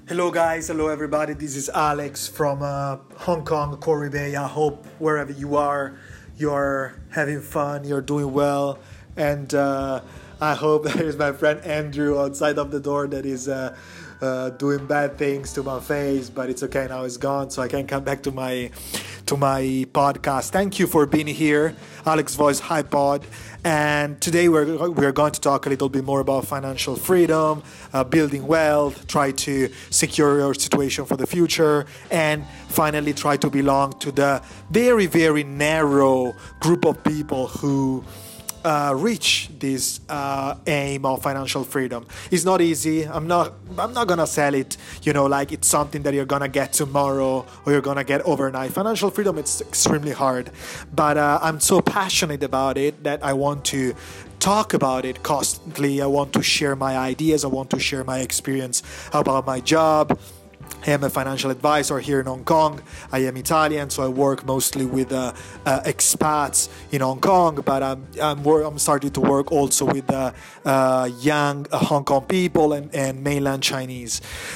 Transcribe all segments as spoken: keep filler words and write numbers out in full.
Hello, guys. Hello, everybody. This is Alex from uh, Hong Kong, Korea Bay. I hope wherever you are, you're having fun, you're doing well. And uh, I hope there's my friend Andrew outside of the door that is uh, uh, doing bad things to my face, but it's okay now. It's gone, so I can come back to my to my podcast. Thank you for being here, Alex Voice High Pod. And today we're we're going to talk a little bit more about financial freedom, uh, building wealth, try to secure your situation for the future, and finally try to belong to the very very narrow group of people who Uh, reach this uh, aim of financial freedom. It's not easy. I'm not. I'm not gonna sell it. You know, like it's something that you're gonna get tomorrow or you're gonna get overnight. Financial freedom, it's extremely hard, but uh, I'm so passionate about it that I want to talk about it constantly. I want to share my ideas. I want to share my experience about my job. I am a financial advisor here in Hong Kong. I am Italian, so I work mostly with uh, uh, expats in Hong Kong, but I'm, I'm, wor- I'm starting to work also with uh, uh, young uh, Hong Kong people and, and mainland Chinese.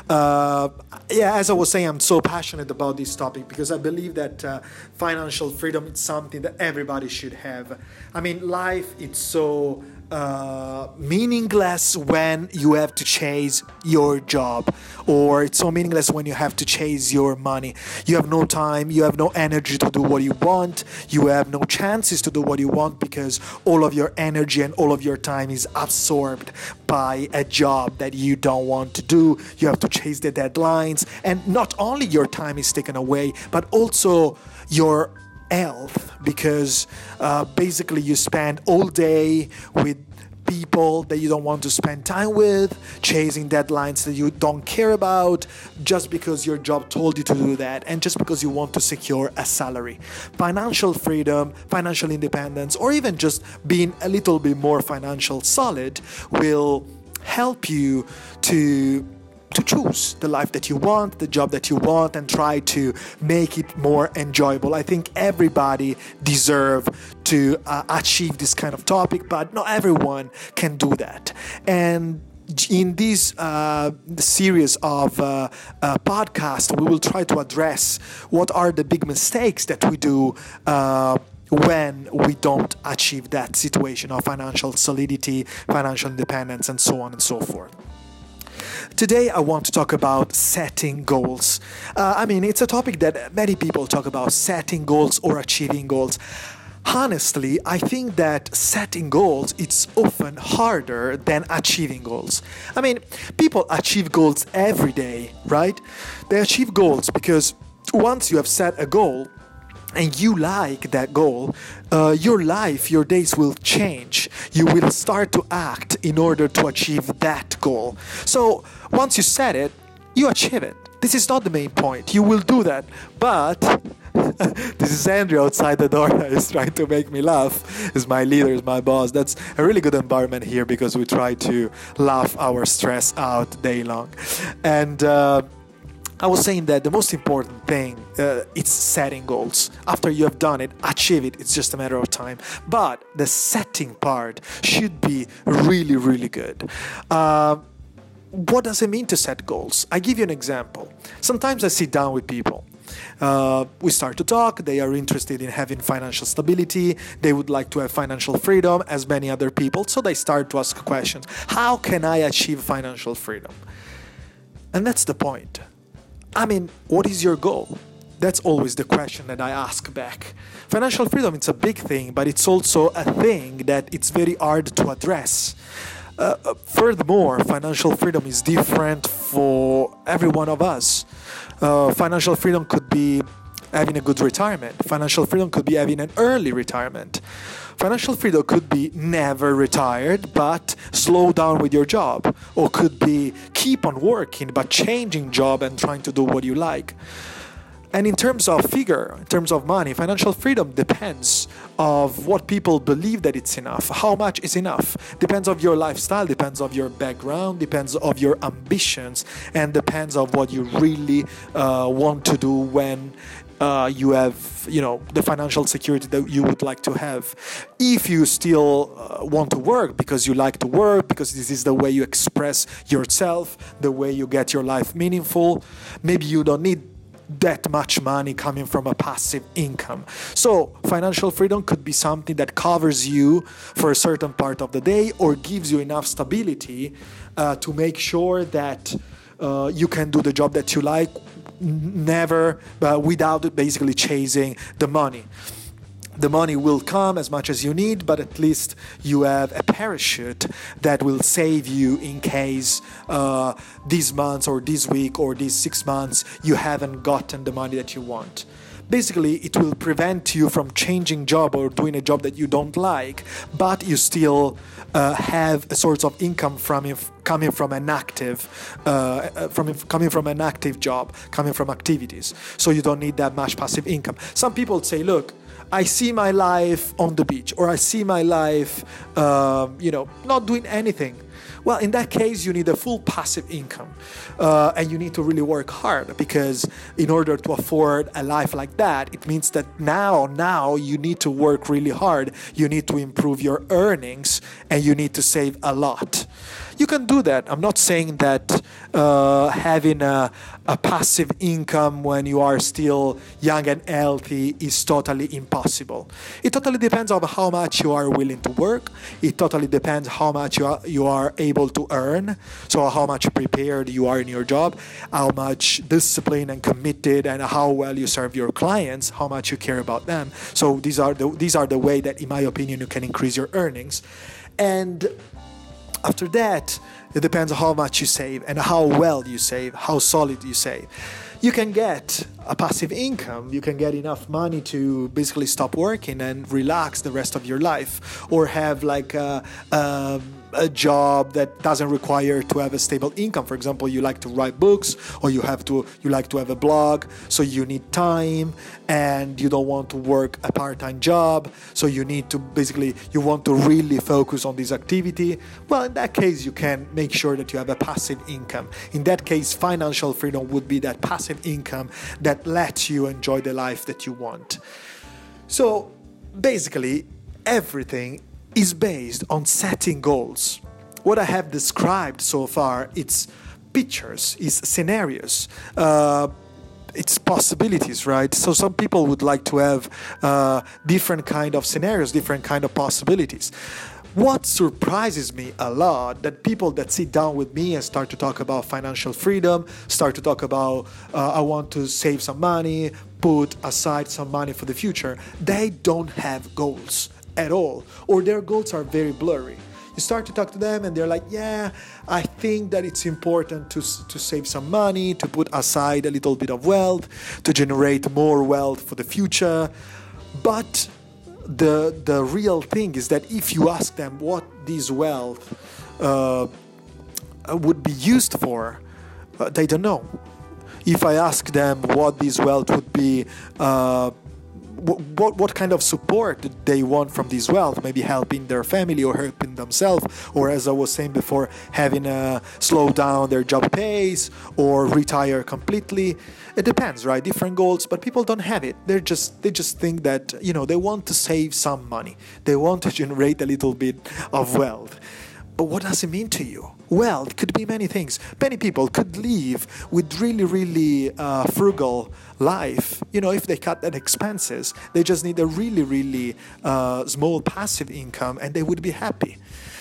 Uh, yeah, as I was saying, I'm so passionate about this topic because I believe that uh, financial freedom is something that everybody should have. I mean, life is so Uh, meaningless when you have to chase your job, or it's so meaningless when you have to chase your money. You have no time, you have no energy to do what you want, you have no chances to do what you want because all of your energy and all of your time is absorbed by a job that you don't want to do. You have to chase the deadlines, and not only your time is taken away, but also your health, because uh, basically you spend all day with people that you don't want to spend time with, chasing deadlines that you don't care about, just because your job told you to do that, and just because you want to secure a salary. Financial freedom, financial independence, or even just being a little bit more financial solid will help you to to choose the life that you want, the job that you want, and try to make it more enjoyable. I think everybody deserves to uh, achieve this kind of topic, but not everyone can do that. And in this uh, series of uh, uh, podcasts, we will try to address what are the big mistakes that we do uh, when we don't achieve that situation of financial solidity, financial independence, and so on and so forth. Today, I want to talk about setting goals. Uh, I mean, it's a topic that many people talk about, setting goals or achieving goals. Honestly, I think that setting goals it's often harder than achieving goals. I mean, people achieve goals every day, right? They achieve goals because once you have set a goal, and you like that goal, uh, your life, your days will change. You will start to act in order to achieve that goal. So once you set it, you achieve it. This is not the main point. You will do that. But this is Andrew outside the door that is trying to make me laugh. Is my leader, is my boss. That's a really good environment here because we try to laugh our stress out day long. And uh, I was saying that the most important thing uh, is setting goals. After you have done it, achieve it. It's just a matter of time. But the setting part should be really, really good. Uh, what does it mean to set goals? I give you an example. Sometimes I sit down with people. Uh, we start to talk. They are interested in having financial stability. They would like to have financial freedom as many other people. So they start to ask questions. How can I achieve financial freedom? And that's the point. I mean, what is your goal? That's always the question that I ask back. Financial freedom, it's a big thing, but it's also a thing that it's very hard to address. Uh, furthermore, financial freedom is different for every one of us. Uh, financial freedom could be having a good retirement. Financial freedom could be having an early retirement. Financial freedom could be never retired, but slow down with your job. Or could be keep on working, but changing job and trying to do what you like. And in terms of figure, in terms of money, financial freedom depends of what people believe that it's enough. How much is enough? Depends of your lifestyle, depends of your background, depends of your ambitions, and depends of what you really uh, want to do when uh, you have, you know, the financial security that you would like to have. If you still uh, want to work because you like to work, because this is the way you express yourself, the way you get your life meaningful, maybe you don't need that much money coming from a passive income. So financial freedom could be something that covers you for a certain part of the day, or gives you enough stability uh, to make sure that uh, you can do the job that you like, never uh, without basically chasing the money. The money will come as much as you need, but at least you have a parachute that will save you in case uh, these months or this week or these six months you haven't gotten the money that you want. Basically, it will prevent you from changing job or doing a job that you don't like, but you still uh, have a source of income from if, coming from an active, uh, from if, coming from an active job, coming from activities. So you don't need that much passive income. Some people say, look, I see my life on the beach, or I see my life, uh, you know, not doing anything. Well, in that case, you need a full passive income, uh, and you need to really work hard, because in order to afford a life like that, it means that now, now you need to work really hard. You need to improve your earnings, and you need to save a lot. You can do that. I'm not saying that uh, having a, a passive income when you are still young and healthy is totally impossible. It totally depends on how much you are willing to work. It totally depends how much you are, you are able to earn. So how much prepared you are in your job, how much disciplined and committed, and how well you serve your clients, how much you care about them. So these are the, these are the way that, in my opinion, you can increase your earnings. And after that, it depends on how much you save and how well you save, how solid you save. You can get a passive income. You can get enough money to basically stop working and relax the rest of your life, or have like a, a, a job that doesn't require to have a stable income. For example, you like to write books, or you have to you like to have a blog, so you need time, and you don't want to work a part-time job, so you need to basically you want to really focus on this activity. Well, in that case, you can make sure that you have a passive income. In that case, financial freedom would be that passive income that lets you enjoy the life that you want. So basically, everything is based on setting goals. What I have described so far, it's pictures, it's scenarios, uh, it's possibilities, right? So some people would like to have uh, different kind of scenarios, different kind of possibilities. What surprises me a lot, that people that sit down with me and start to talk about financial freedom, start to talk about uh, I want to save some money, put aside some money for the future, they don't have goals at all, or their goals are very blurry. You start to talk to them and they're like, yeah, I think that it's important to to save some money, to put aside a little bit of wealth, to generate more wealth for the future. But the the real thing is that if you ask them what this wealth uh, would be used for, uh, they don't know. If I ask them what this wealth would be, uh, What, what kind of support they want from this wealth, maybe helping their family or helping themselves, or as I was saying before, having a slow down their job pace or retire completely. It depends, right? Different goals, but people don't have it. They're just they just think that, you know, they want to save some money. They want to generate a little bit of wealth. But what does it mean to you? Well, it could be many things. Many people could live with really, really uh, frugal life. You know, if they cut their expenses, they just need a really, really uh, small passive income, and they would be happy.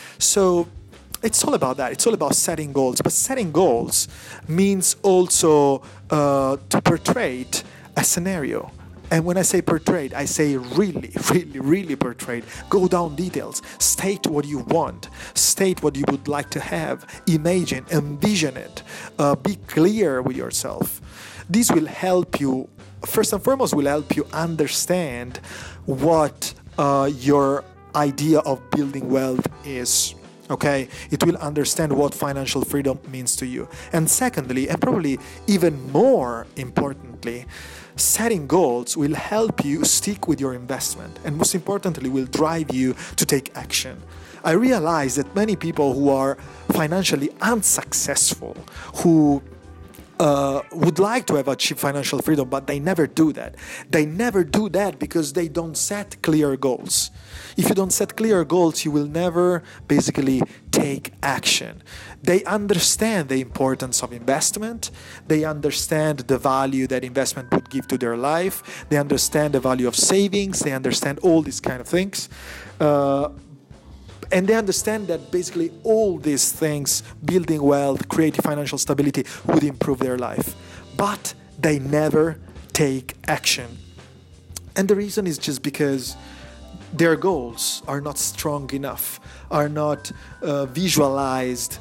So it's all about that. It's all about setting goals. But setting goals means also uh, to portray a scenario. And when I say portrayed, I say really, really, really portrayed. Go down details. State what you want. State what you would like to have. Imagine, envision it. Uh, be clear with yourself. This will help you, first and foremost, will help you understand what uh, your idea of building wealth is. Okay, it will understand what financial freedom means to you. And secondly, and probably even more importantly, setting goals will help you stick with your investment, and most importantly, will drive you to take action. I realize that many people who are financially unsuccessful, who uh, would like to have achieved financial freedom, but they never do that. They never do that because they don't set clear goals. If you don't set clear goals, you will never basically take action. They understand the importance of investment. They understand the value that investment would give to their life. They understand the value of savings. They understand all these kind of things. Uh, And they understand that basically all these things, building wealth, creating financial stability, would improve their life. But they never take action. And the reason is just because their goals are not strong enough, are not uh, visualized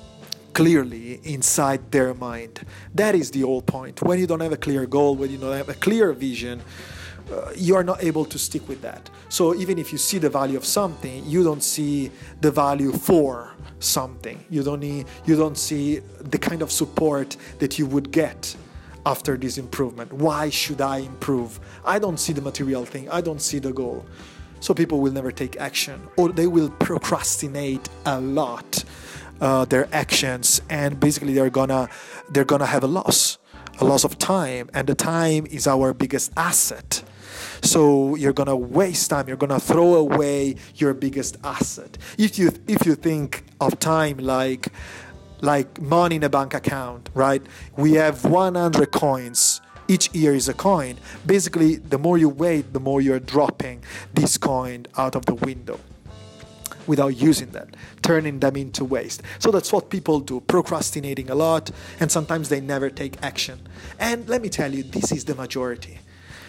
clearly inside their mind. That is the whole point. When you don't have a clear goal, when you don't have a clear vision, Uh, you are not able to stick with that. So even if you see the value of something, you don't see the value for something. You don't need, you don't see the kind of support that you would get after this improvement. Why should I improve? I don't see the material thing. I don't see the goal. So people will never take action, or they will procrastinate a lot uh, their actions, and basically they're gonna they're gonna have a loss, a loss of time, and the time is our biggest asset. So you're gonna waste time. You're gonna throw away your biggest asset. If you if you think of time like like money in a bank account, right? We have one hundred coins. Each year is a coin. Basically, the more you wait, the more you're dropping this coin out of the window without using that, turning them into waste. So that's what people do, procrastinating a lot, and sometimes they never take action. And let me tell you, this is the majority.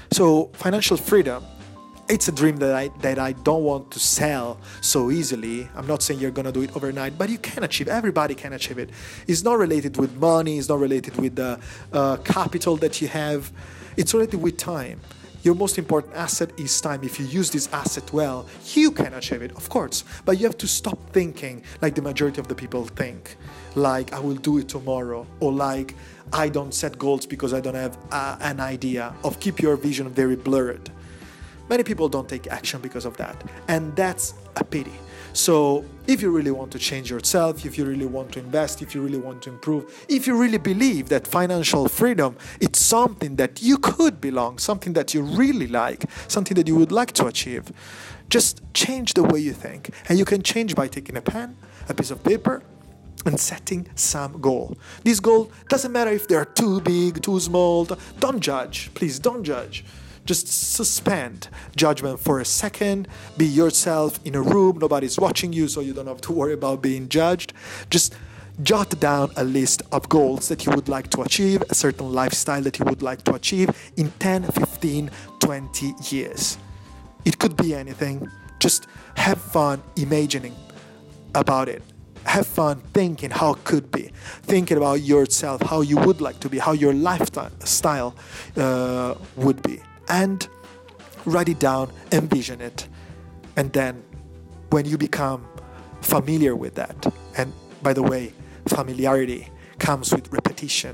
So financial freedom, it's a dream that I that I don't want to sell so easily. I'm not saying you're gonna do it overnight, but you can achieve. Everybody can achieve it. It's not related with money. It's not related with the uh, capital that you have. It's related with time. Your most important asset is time. If you use this asset well, you can achieve it, of course. But you have to stop thinking like the majority of the people think. Like, I will do it tomorrow. Or like, I don't set goals because I don't have uh, an idea. Of keep your vision very blurred. Many people don't take action because of that. And that's a pity. So if you really want to change yourself, if you really want to invest, if you really want to improve, if you really believe that financial freedom, it's something that you could belong, something that you really like, something that you would like to achieve, just change the way you think. And you can change by taking a pen, a piece of paper, and setting some goal. This goal doesn't matter if they're too big, too small. Don't judge. Please don't judge. Just suspend judgment for a second. Be yourself in a room. Nobody's watching you, so you don't have to worry about being judged. Just jot down a list of goals that you would like to achieve, a certain lifestyle that you would like to achieve in ten, fifteen, twenty years. It could be anything. Just have fun imagining about it. Have fun thinking how it could be. Thinking about yourself, how you would like to be, how your lifestyle uh, would be. And write it down, envision it. And then when you become familiar with that, and by the way, familiarity comes with repetition.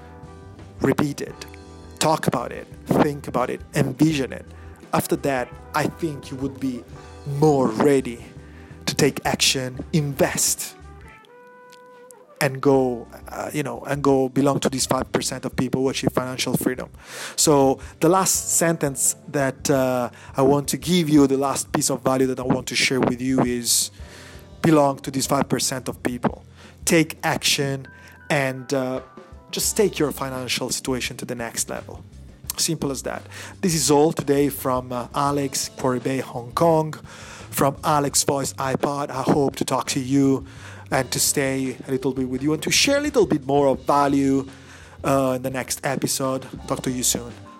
Repeat it. Talk about it. Think about it. Envision it. After that, I think you would be more ready to take action, invest, and go, uh, you know, and go belong to these five percent of people who achieve financial freedom. So the last sentence that uh, I want to give you, the last piece of value that I want to share with you is belong to these five percent of people. Take action and uh, just take your financial situation to the next level. Simple as that. This is all today from uh, Alex, Quarry Bay, Hong Kong, from Alex Voice iPod. I hope to talk to you and to stay a little bit with you and to share a little bit more of value uh, in the next episode. Talk to you soon.